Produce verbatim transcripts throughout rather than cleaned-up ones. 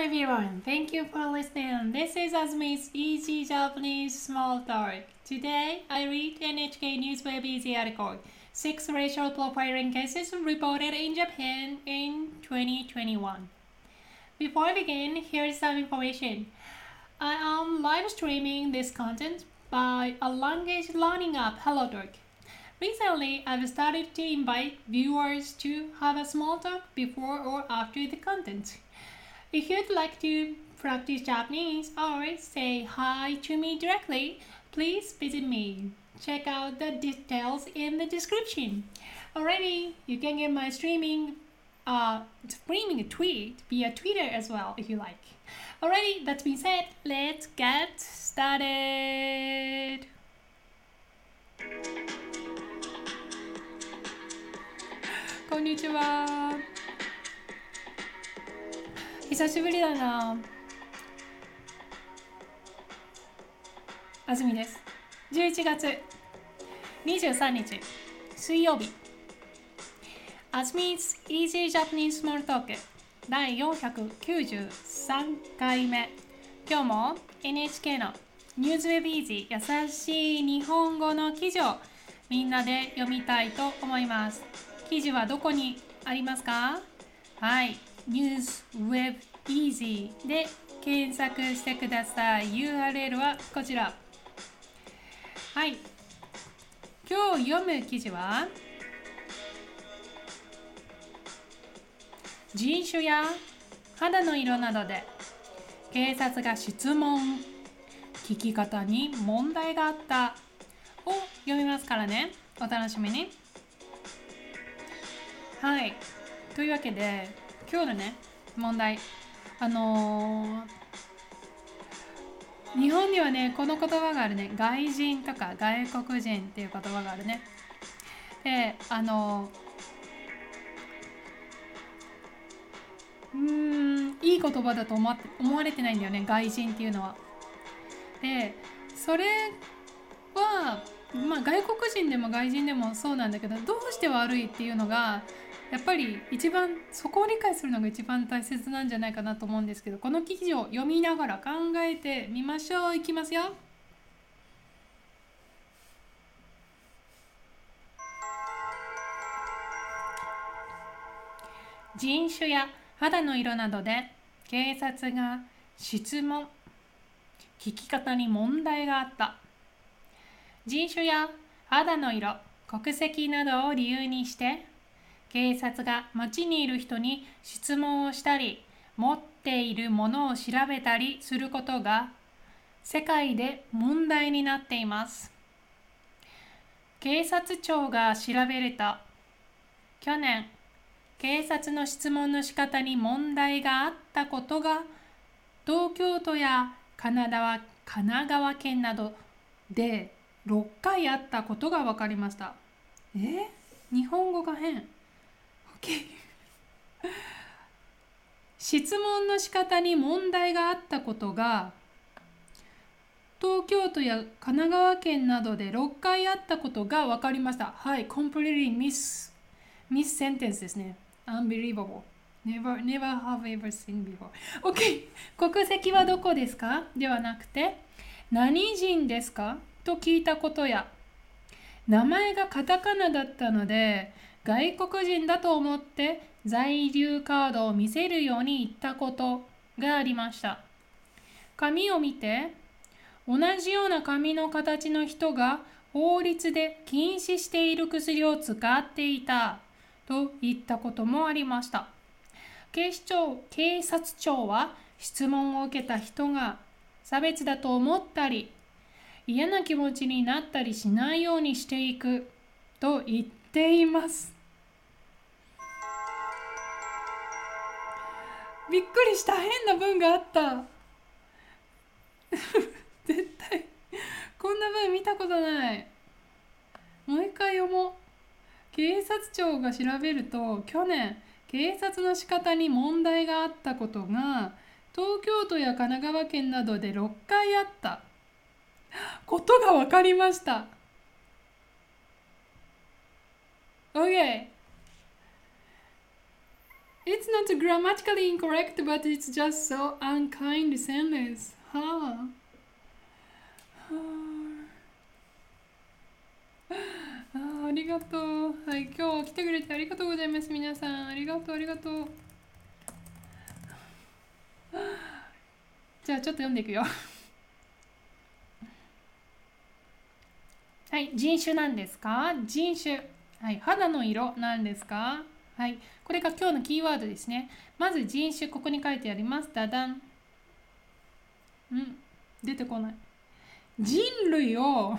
everyone, thank you for listening. This is Azmi's Easy Japanese Small Talk. Today, I read N H K Newsweb Easy article, Six Racial Profiling Cases Reported in Japan in twenty twenty-one. Before I begin, here's some information. I am live streaming this content by a language learning app, HelloTalk. Recently, I've started to invite viewers to have a small talk before or after the content. If you'd like to practice Japanese or say hi to me directly, please visit me. Check out the details in the description. Already, you can get my streaming uh, streaming tweet via Twitter as well if you like. Alrighty, that being said, let's get started. こんにちは。久しぶりだな。あずみです。じゅういちがつにじゅうさんにち水曜日。あずみ 's Easy Japanese Small Talk だいよんひゃくきゅうじゅうさんかいめ。今日も エヌエイチケー の Newsweb Easy 優しい日本語の記事をみんなで読みたいと思います。記事はどこにありますか？はい、Newsweb Easy で検索してください。ユーアールエル はこちら。はい、今日読む記事は人種や肌の色などで警察が質問、聞き方に問題があったを読みますからね。お楽しみに。はい。というわけで、今日のね、問題。あのー、日本にはね、この言葉があるね。外人とか外国人っていう言葉があるね。で、あのー、うーん、いい言葉だと思って思われてないんだよね。外人っていうのは。で、それは、まあ外国人でも外人でもそうなんだけど、どうして悪いっていうのが、やっぱり一番そこを理解するのが一番大切なんじゃないかなと思うんですけど、この記事を読みながら考えてみましょう。いきますよ。人種や肌の色などで警察が質問、聞き方に問題があった。人種や肌の色、国籍などを理由にして警察が街にいる人に質問をしたり、持っているものを調べたりすることが世界で問題になっています。警察庁が調べると、去年、警察の質問の仕方に問題があったことが東京都や神奈川、神奈川県などでろっかいあったことが分かりました。え？日本語が変。質問の仕方に問題があったことが東京都や神奈川県などでろっかいあったことが分かりました。はい、completely miss miss sentence ですね。Unbelievable. Never, never have ever seen before. OK。国籍はどこですか？ではなくて、何人ですか？と聞いたことや、名前がカタカナだったので、外国人だと思って在留カードを見せるように言ったことがありました。紙を見て、同じような紙の形の人が法律で禁止している薬を使っていたと言ったこともありました。警視庁、警察庁は質問を受けた人が差別だと思ったり、嫌な気持ちになったりしないようにしていくと言っています。びっくりした。変な文があった絶対こんな文見たことない。もう一回読もう。警察庁が調べると、去年警察の仕方に問題があったことが東京都や神奈川県などでろっかいあったことが分かりました。 OK。 It's not grammatically incorrect, but it's just so unkind sentence. はあ。はあ。あ, ありがとう。はい、今日は来てくれてありがとうございます。皆さん、ありがとう、ありがとう。じゃあ、ちょっと読んでいくよ。はい、人種なんですか？人種。はい、肌の色なんですか？はい、これが今日のキーワードですね。まず人種、ここに書いてあります。ダダン。うん、出てこない。人類を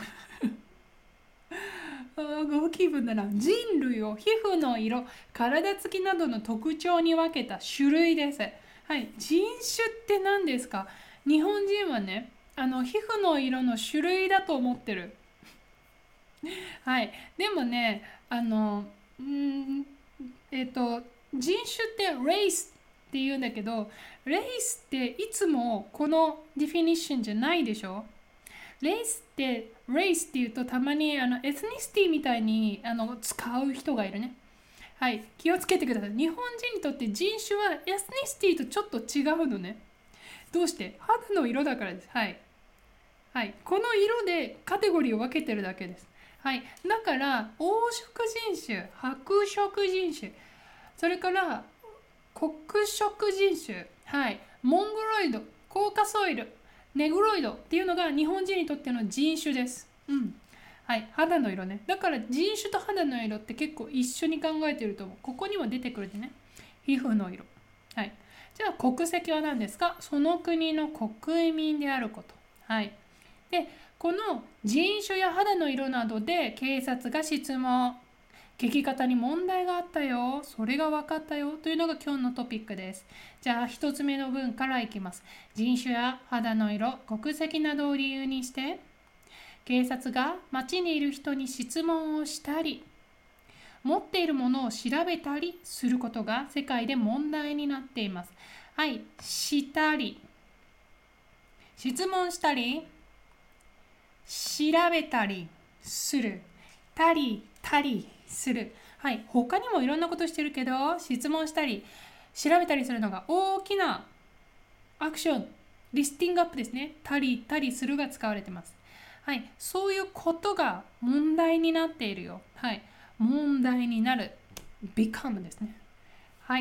ご気分だな。人類を皮膚の色、体つきなどの特徴に分けた種類です。はい、人種って何ですか？日本人はね、あの皮膚の色の種類だと思ってる。はい、でもね、あの、んえっと、人種ってレイスって言うんだけど、レイスっていつもこのディフィニッションじゃないでしょ？レイスって、レイスって言うとたまにあのエスニシティみたいにあの使う人がいるね。はい、気をつけてください。日本人にとって人種はエスニシティとちょっと違うのね。どうして？肌の色だからです。はい。はい、この色でカテゴリーを分けてるだけです。はい、だから黄色人種、白色人種、それから黒色人種、はい、モンゴロイド、コーカソイル、ネグロイドっていうのが日本人にとっての人種です。うん。はい、肌の色ね。だから人種と肌の色って結構一緒に考えてると思う。ここにも出てくるでね。皮膚の色。はい。じゃあ国籍は何ですか？その国の国民であること。はい。で、この人種や肌の色などで警察が質問。聞き方に問題があったよ。それが分かったよ。というのが今日のトピックです。じゃあ一つ目の文からいきます。人種や肌の色、国籍などを理由にして、警察が街にいる人に質問をしたり、持っているものを調べたりすることが世界で問題になっています。はい、したり、質問したり、調べたりする、たり、たりする。はい、他にもいろんなことしてるけど、質問したり、調べたりするのが大きなアクション、リスティングアップですね。たり、たりするが使われてます。はい、そういうことが問題になっているよ。はい、問題になる。become ですね。はい。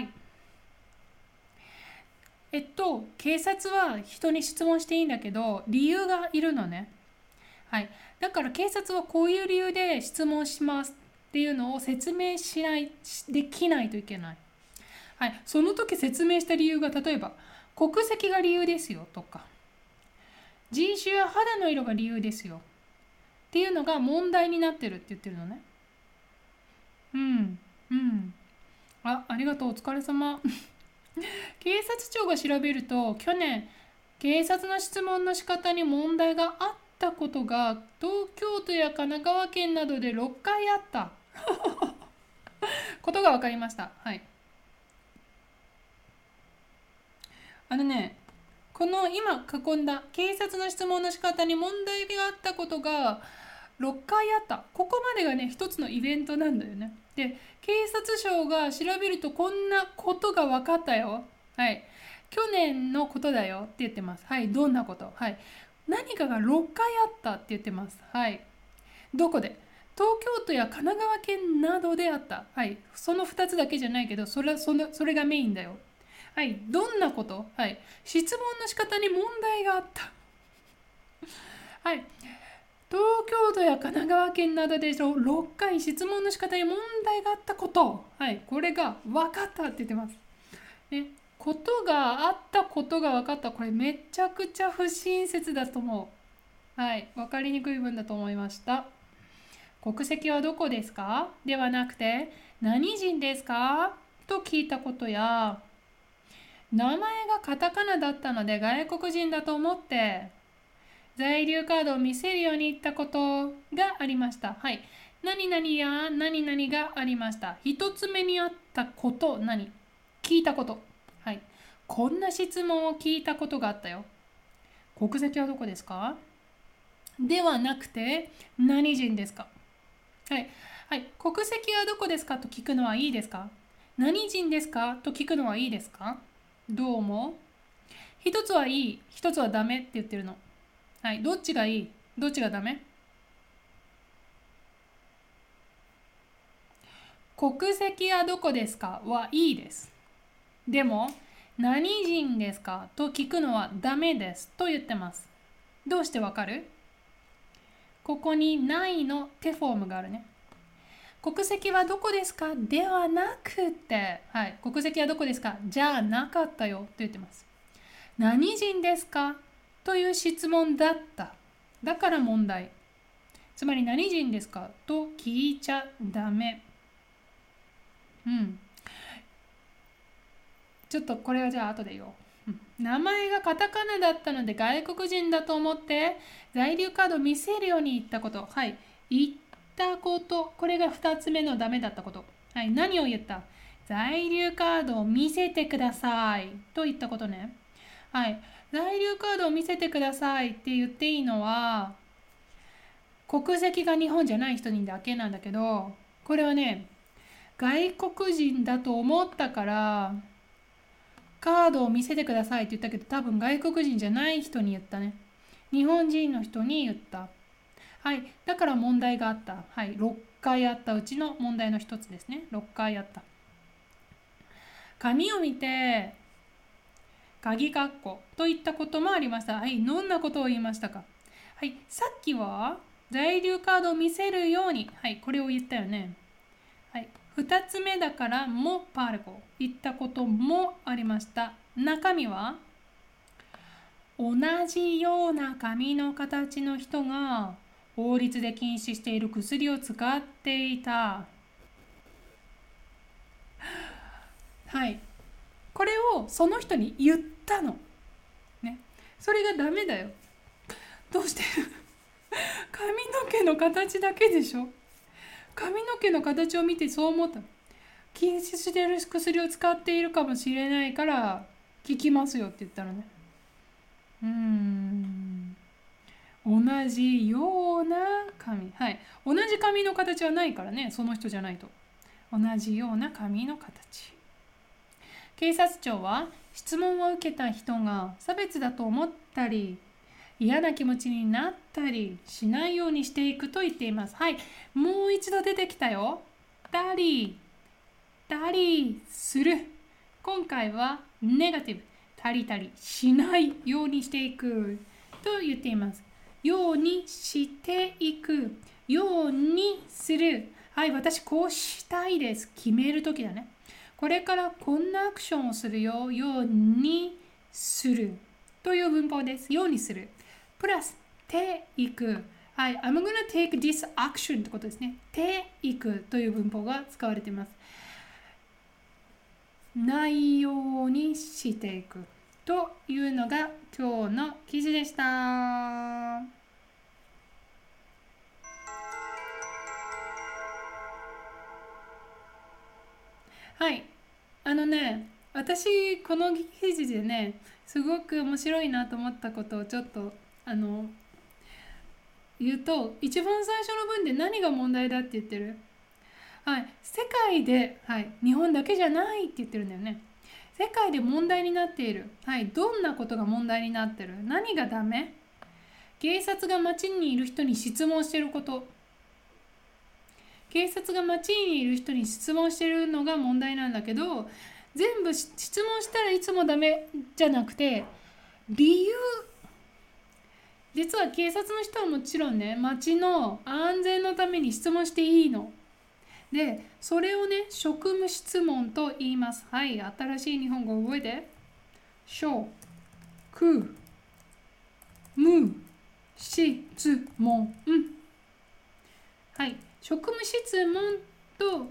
えっと、警察は人に質問していいんだけど、理由がいるのね。はい。だから警察はこういう理由で質問しますっていうのを説明しない、できないといけない。はい。その時説明した理由が、例えば、国籍が理由ですよとか、人種や肌の色が理由ですよっていうのが問題になってるって言ってるのね。うん。うん。あ、ありがとう。お疲れ様。警察庁が調べると、去年、警察の質問の仕方に問題があったことが東京都や神奈川県などでろっかいあったことが分かりました。はい。あのね、この今囲んだ警察の質問の仕方に問題があったことがろっかいあった。ここまでがね、一つのイベントなんだよね。で、警察庁が調べるとこんなことが分かったよ。はい。去年のことだよって言ってます。はい。どんなこと？はい。何かがろっかいあったって言ってます。はい。どこで？東京都や神奈川県などであった。はい。そのふたつだけじゃないけど、それ、その、それがメインだよ。はい。どんなこと？はい。質問の仕方に問題があった。はい。東京都や神奈川県などでろっかい質問の仕方に問題があったこと。はい。これが分かったって言ってます。ね。ことがあったことが分かった。これめちゃくちゃ不親切だと思う。はい。分かりにくい文だと思いました。国籍はどこですか？ではなくて、何人ですか？と聞いたことや、名前がカタカナだったので外国人だと思って、在留カードを見せるように言ったことがありました。はい。何々や何々がありました。一つ目にあったこと、何？聞いたこと。はい。こんな質問を聞いたことがあったよ。国籍はどこですか？ではなくて、何人ですか？はい。はい。国籍はどこですかと聞くのはいいですか？ 何人ですかと聞くのはいいですか？どう思う？一つはいい、一つはダメって言ってるの。はい、どっちがいい？どっちがダメ？国籍はどこですかはいいです。でも、何人ですかと聞くのはダメですと言ってます。どうしてわかる？ここにないの手フォームがあるね。国籍はどこですかではなくて、はい、国籍はどこですかじゃなかったよと言ってます。何人ですかという質問だった。だから問題。つまり何人ですかと聞いちゃダメ。うん。ちょっとこれはじゃあ後で言おう。うん、名前がカタカナだったので外国人だと思って在留カードを見せるように言ったこと。はい。言ったこと。これがふたつめのダメだったこと。はい。何を言った？在留カードを見せてくださいと言ったことね。はい。在留カードを見せてくださいって言っていいのは国籍が日本じゃない人にだけなんだけど、これはね、外国人だと思ったからカードを見せてくださいって言ったけど、多分外国人じゃない人に言ったね。日本人の人に言った。はい。だから問題があった。はい。ろっかいあったうちの問題の一つですね。ろっかいあった。紙を見て、鍵括弧といったこともありました。はい。どんなことを言いましたか？はい。さっきは在留カードを見せるように。はい。これを言ったよね。はい。ふたつめだからもパールコ言ったこともありました。中身は同じような髪の形の人が法律で禁止している薬を使っていた。はい。これをその人に言ったの。ね。それがダメだよ。どうして髪の毛の形だけでしょ？髪の毛の形を見てそう思った。禁止している薬を使っているかもしれないから聞きますよって言ったらね。うーん。同じような髪。はい。同じ髪の形はないからね。その人じゃないと。同じような髪の形。警察庁は質問を受けた人が差別だと思ったり、嫌な気持ちになったりしないようにしていくと言っています。はい。もう一度出てきたよ。たり、たりする。今回はネガティブ。たりたりしないようにしていくと言っています。ようにしていく。ようにする。はい、私こうしたいです。決めるときだね。これからこんなアクションをするよ。ようにする。という文法です。ようにする。プラス、ていく。はい、I'm gonna take this action ってことですね。ていくという文法が使われています。ないようにしていくというのが今日の記事でした。はい。あのね、私この記事でね、すごく面白いなと思ったことをちょっとあの言うと、一番最初の文で何が問題だって言ってる？はい、世界で、はい、日本だけじゃないって言ってるんだよね。世界で問題になっている。はい、どんなことが問題になってる？何がダメ？警察が街にいる人に質問していること。警察が街にいる人に質問しているのが問題なんだけど、全部質問したらいつもダメじゃなくて、理由。実は警察の人はもちろんね、街の安全のために質問していいの。で、それをね、職務質問と言います。はい、新しい日本語を覚えて。職務質問。はい、職務質問と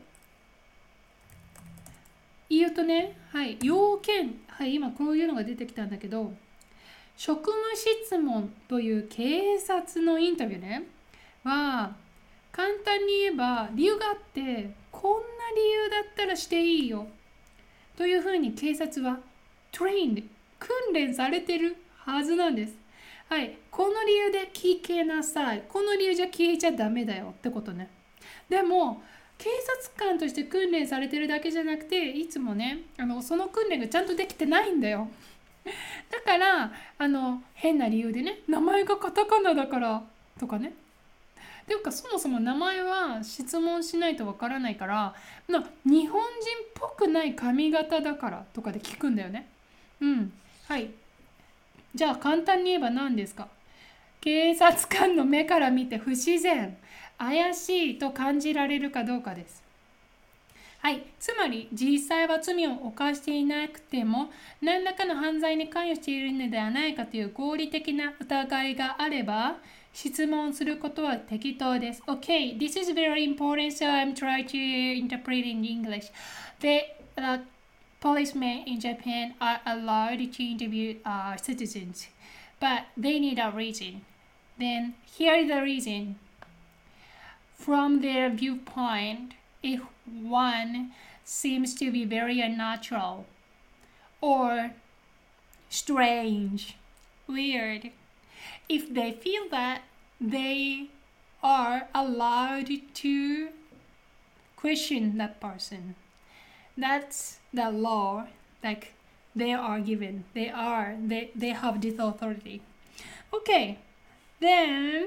言うとね、はい、要件。はい、今こういうのが出てきたんだけど、職務質問という警察のインタビューね、は、簡単に言えば理由があって、こんな理由だったらしていいよというふうに警察はトレインで訓練されてるはずなんです。はい、この理由で聞けなさい。この理由じゃ聞いちゃダメだよってことね。でも警察官として訓練されてるだけじゃなくて、いつもね、あのその訓練がちゃんとできてないんだよ。だからあの変な理由でね、名前がカタカナだからとかね。ていうかそもそも名前は質問しないとわからないから、な日本人っぽくない髪型だからとかで聞くんだよね。うん。はい。じゃあ簡単に言えば何ですか？警察官の目から見て不自然、怪しいと感じられるかどうかです。はい、つまり実際は罪を犯していなくても何らかの犯罪に関与しているのではないかという合理的な疑いがあれば質問することは適当です。Okay, this is very important, so I'm trying to interpret in English. The uh, policemen in Japan are allowed to interview uh, citizens, but they need a reason. Then here is the reason. From their viewpoint, if one seems to be very unnatural or strange, weird, if they feel that they are allowed to question that person, that's the law. Like they are given, they are, they, they have this authority. Okay, then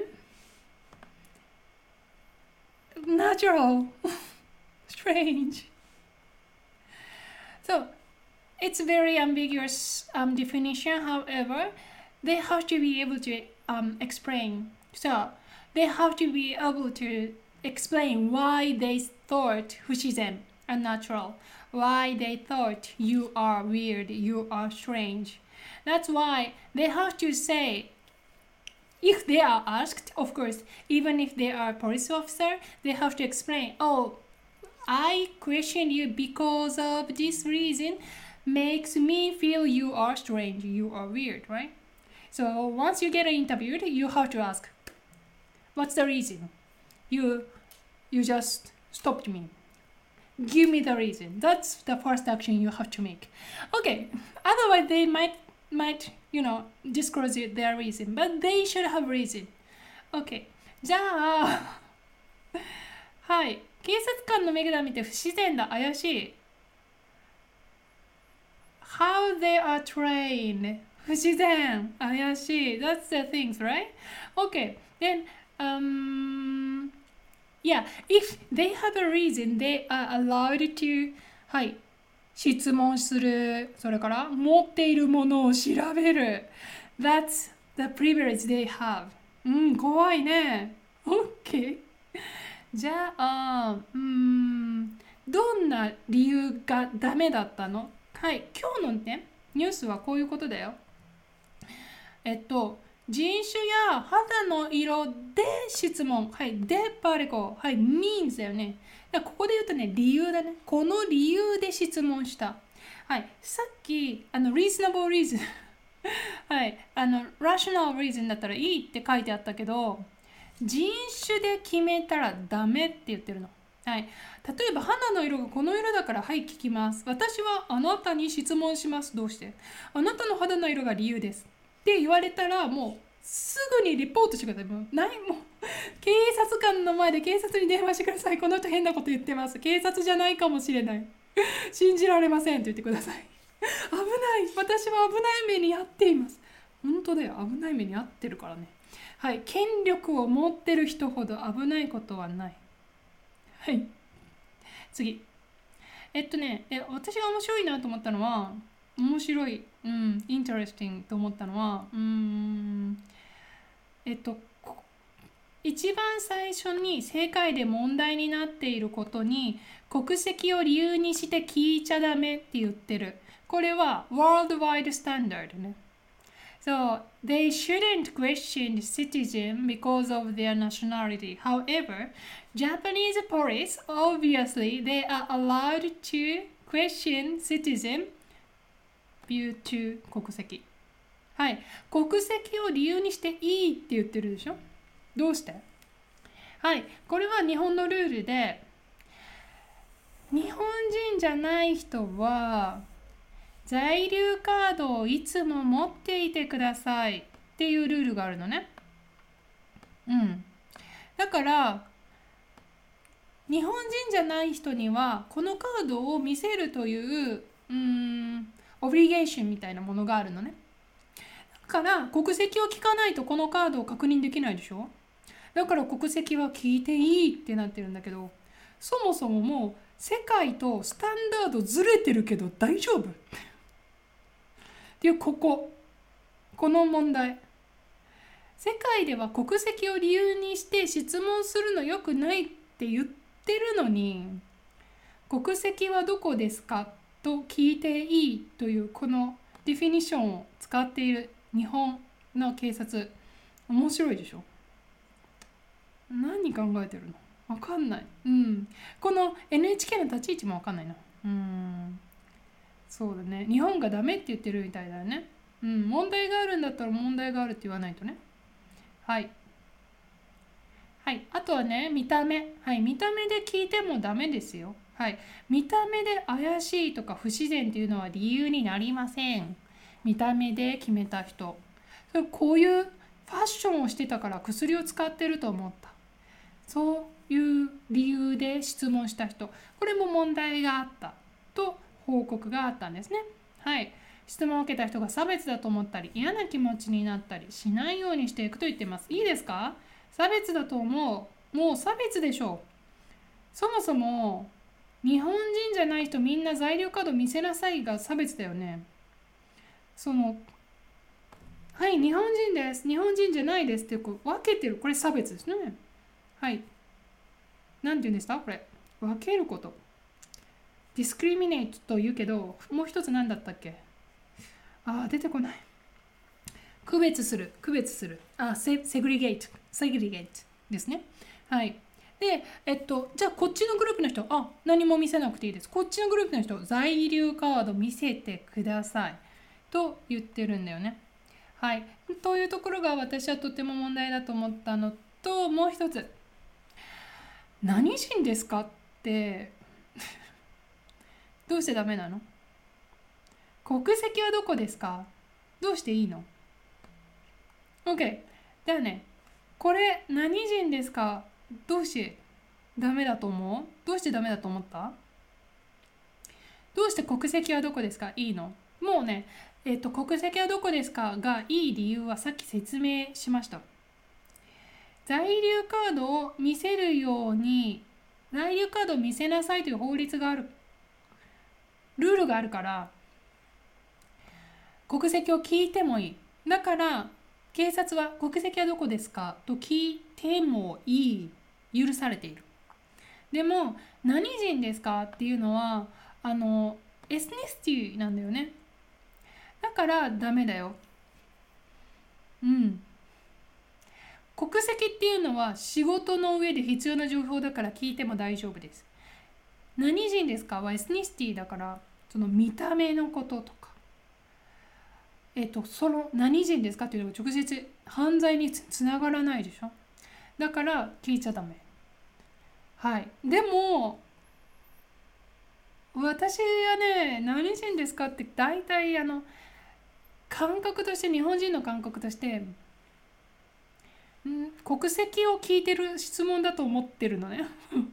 natural, strange. So it's very ambiguous um, definition. However, they have to be able to um, explain. So they have to be able to explain why they thought 不自然 unnatural, why they thought you are weird, you are strange. That's why they have to say, if they are asked, of course, even if they are a police officer, they have to explain, oh, I question you because of this reason makes me feel you are strange, you are weird, right? So once you get interviewed, you have to ask, what's the reason? You you just stopped me. Give me the reason. That's the first action you have to make. Okay, otherwise they might might, you know, disclose their reason, but they should have reason. Okay, じゃあはい、警察官の目から見て不自然だ、怪しい。How they are trained, 不自然、怪しい。That's the things, right? Okay, then um yeah, if they have a reason, they are allowed to はい、質問する。それから持っているものを調べる。That's the privilege they have. うん、怖いね。OK。じゃあ、うーん、どんな理由がダメだったの？はい、今日のね、ニュースはこういうことだよ。えっと、人種や肌の色で質問。はい、でパレコ。はい、means だよね。だからここで言うとね、理由だね。この理由で質問した。はい、さっき、あの、reasonable reason はい、あの、rational reason だったらいいって書いてあったけど、人種で決めたらダメって言ってるの。はい、例えば肌の色がこの色だからはい聞きます。私はあなたに質問します。どうして？あなたの肌の色が理由です。って言われたらもうすぐにリポートしてください。もうないもう警察官の前で警察に電話してください。この人変なこと言ってます。警察じゃないかもしれない。信じられませんって言ってください。危ない。私は危ない目に遭っています。本当だよ。危ない目に遭ってるからね。はい。権力を持ってる人ほど危ないことはない。はい。次。えっとね、え私が面白いなと思ったのは、面白い、うん、インタレスティングと思ったのは、うーん、えっと、一番最初に世界で問題になっていることに国籍を理由にして聞いちゃダメって言ってる。これは worldwide standard ね。So they shouldn't question citizen because of their nationality. However, Japanese police, obviously, they are allowed to question citizen due to 国籍。はい。国籍を理由にしていいって言ってるでしょ？どうして？はい。これは日本のルールで、日本人じゃない人は、在留カードをいつも持っていてくださいっていうルールがあるのね。うん。だから、 日本人じゃない人にはこのカードを見せるといううーんオブリゲーションみたいなものがあるのね。だから国籍を聞かないとこのカードを確認できないでしょ。だから国籍は聞いていいってなってるんだけど、そもそももう世界とスタンダードずれてるけど大丈夫っていうこここの問題。世界では国籍を理由にして質問するの良くないって言ってるのに、国籍はどこですかと聞いていいというこのディフィニッションを使っている日本の警察、面白いでしょ。何考えてるのわかんない。うん。この エヌエイチケー の立ち位置もわかんないな。うん。そうだね。日本がダメって言ってるみたいだよね。うん。問題があるんだったら問題があるって言わないとね。はい。はい。あとはね、見た目。はい。見た目で聞いてもダメですよ。はい。見た目で怪しいとか不自然っていうのは理由になりません。見た目で決めた人。こういうファッションをしてたから薬を使ってると思った。そういう理由で質問した人。これも問題があったと報告があったんですね。はい。質問を受けた人が差別だと思ったり嫌な気持ちになったりしないようにしていくと言ってます。いいですか？差別だと思う。もう差別でしょう。そもそも日本人じゃない人みんな在留カード見せなさいが差別だよね。そのはい日本人です、日本人じゃないですってこう分けてる、これ差別ですね。はい。なんて言うんですかこれ。分けること。ディスクリミネートと言うけど、もう一つ何だったっけ。ああ、出てこない。区別する。区別する。あ、セ、セグリゲート。セグリゲートですね。はい。で、えっと、じゃあこっちのグループの人、あ、何も見せなくていいです。こっちのグループの人、在留カード見せてください。と言ってるんだよね。はい。というところが私はとても問題だと思ったのと、もう一つ。何人ですかってどうしてダメなの？国籍はどこですか？どうしていいの？ OK。 だよね。これ何人ですか？どうしてダメだと思う？どうしてダメだと思った？どうして国籍はどこですか？いいの？もうね、えっと、国籍はどこですかがいい理由はさっき説明しました。在留カードを見せるように、在留カードを見せなさいという法律がある、ルールがあるから、国籍を聞いてもいい。だから、警察は国籍はどこですかと聞いてもいい。許されている。でも、何人ですかっていうのは、あの、エスニシティなんだよね。だからダメだよ。うん。国籍っていうのは仕事の上で必要な情報だから聞いても大丈夫です。何人ですかはエスニシティだから、その見た目のこととか、えっと、その何人ですかっていうのが直接犯罪につつながらないでしょ。だから聞いちゃダメ。はい。でも、私はね、何人ですかって大体あの、感覚として、日本人の感覚として、ん国籍を聞いてる質問だと思ってるのね。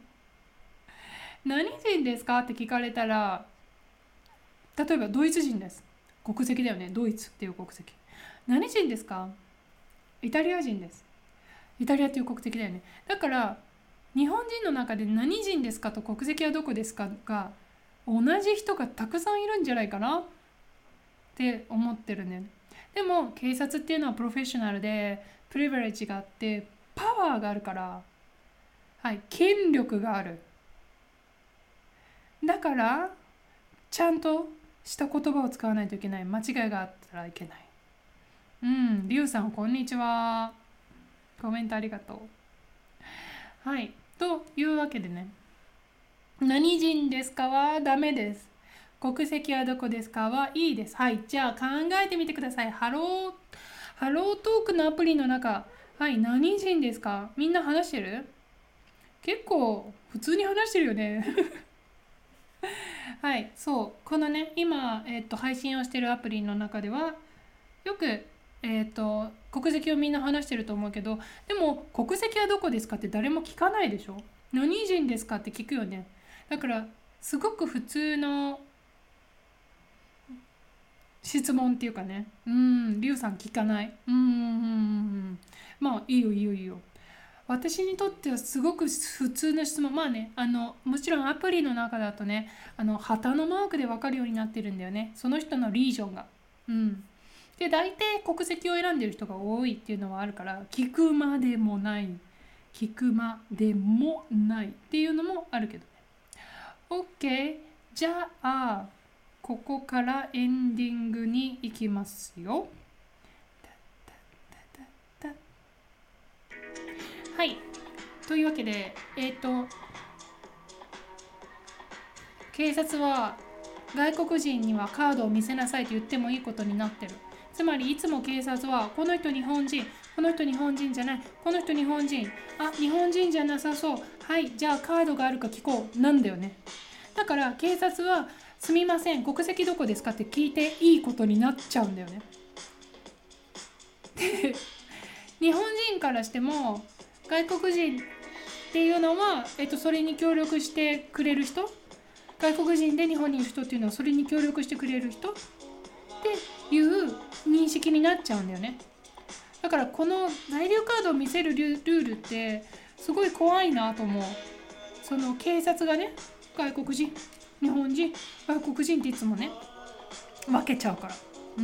何人ですかって聞かれたら、例えばドイツ人です。国籍だよね。ドイツっていう国籍。何人ですか？イタリア人です。イタリアっていう国籍だよね。だから日本人の中で何人ですかと国籍はどこですかが同じ人がたくさんいるんじゃないかなって思ってるね。でも警察っていうのはプロフェッショナルでプリヴィレッジがあってパワーがあるから、はい、権力がある。だからちゃんとした言葉を使わないといけない。間違いがあったらいけない。うん、リュウさんこんにちは。コメントありがとう。はい。というわけでね、何人ですかはダメです。国籍はどこですかはいいです。はい。じゃあ考えてみてください。ハロー、ハロートークのアプリの中、はい、何人ですか？みんな話してる？結構普通に話してるよね。はい、そう。このね、今、えっと、配信をしてるアプリの中では、よく、えっと、国籍をみんな話してると思うけど、でも、国籍はどこですかって誰も聞かないでしょ。 何人ですかって聞くよね。だからすごく普通の質問っていうかね。うん、リュウさん聞かない。うん、うん、うん。まあいいよいいよいいよ。私にとってはすごく普通の質問。まあね、あのもちろんアプリの中だとね、あの旗のマークで分かるようになってるんだよね、その人のリージョンが。うん。で大体国籍を選んでる人が多いっていうのはあるから、聞くまでもない聞くまでもないっていうのもあるけどね。 OK、 じゃあここからエンディングに行きますよ。はい、というわけで、えっと警察は外国人にはカードを見せなさいと言ってもいいことになってる。つまりいつも警察はこの人日本人、この人日本人じゃない、この人日本人、あ、日本人じゃなさそう、はい、じゃあカードがあるか聞こうなんだよね。だから警察はすみません国籍どこですかって聞いていいことになっちゃうんだよね。で日本人からしても外国人っていうのは、えっと、それに協力してくれる人、外国人で日本にいる人っていうのはそれに協力してくれる人っていう認識になっちゃうんだよね。だからこの在留カードを見せるルールってすごい怖いなと思う。その警察がね、外国人、日本人、外国人っていつもね分けちゃうから。うん、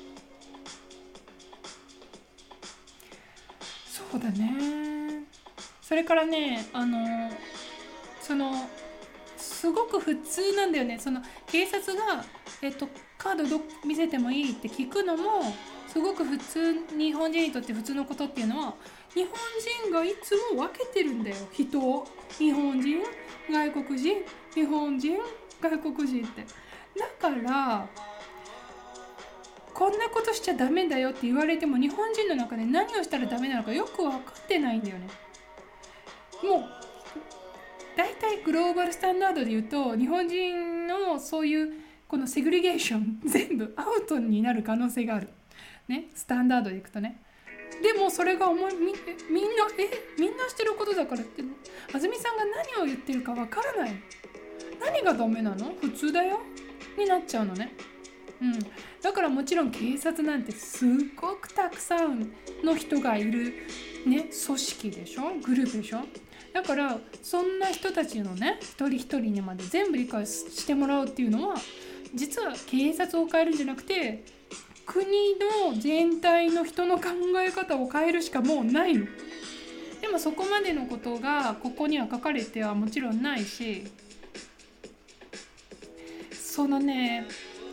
そうだね。それからね、あのそのすごく普通なんだよね。その警察が、えっと、カードど見せてもいいって聞くのもすごく普通、日本人にとって普通のことっていうのは、日本人がいつも分けてるんだよ、人を。日本人、外国人、日本人、外国人って。だからこんなことしちゃダメだよって言われても、日本人の中で何をしたらダメなのかよく分かってないんだよね。もうだいたいグローバルスタンダードで言うと、日本人のそういうこのセグリゲーション全部アウトになる可能性があるね、スタンダードでいくとね。でもそれが思い み, みんなえみんなしてることだからって、あずみさんが何を言ってるかわからない、何がダメなの、普通だよになっちゃうのね。うん、だからもちろん警察なんてすっごくたくさんの人がいる、ね、組織でしょ、グループでしょ。だからそんな人たちのね一人一人にまで全部理解してもらうっていうのは、実は警察を変えるんじゃなくて国の全体の人の考え方を変えるしかもうないの。でもそこまでのことがここには書かれてはもちろんないし、そのね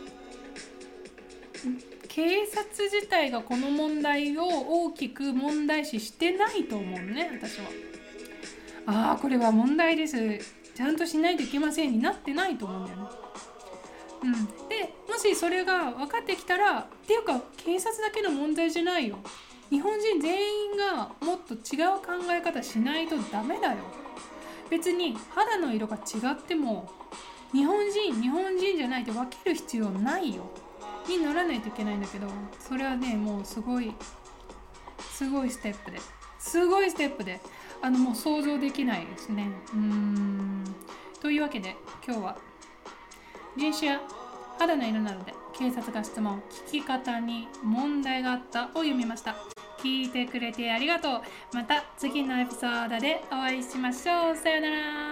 警察自体がこの問題を大きく問題視してないと思うね、私は。ああこれは問題です、ちゃんとしないといけませんになってないと思うんだよね。うん、でもしそれが分かってきたら、っていうか警察だけの問題じゃないよ、日本人全員がもっと違う考え方しないとダメだよ。別に肌の色が違っても日本人日本人じゃないと分ける必要ないよにならないといけないんだけど、それはねもうすごいすごいステップですごいステップであのもう想像できないですね。うーんというわけで今日は人種や肌の色などで警察が質問、聞き方に問題があったを読みました。聞いてくれてありがとう。また次のエピソードでお会いしましょう。さよなら。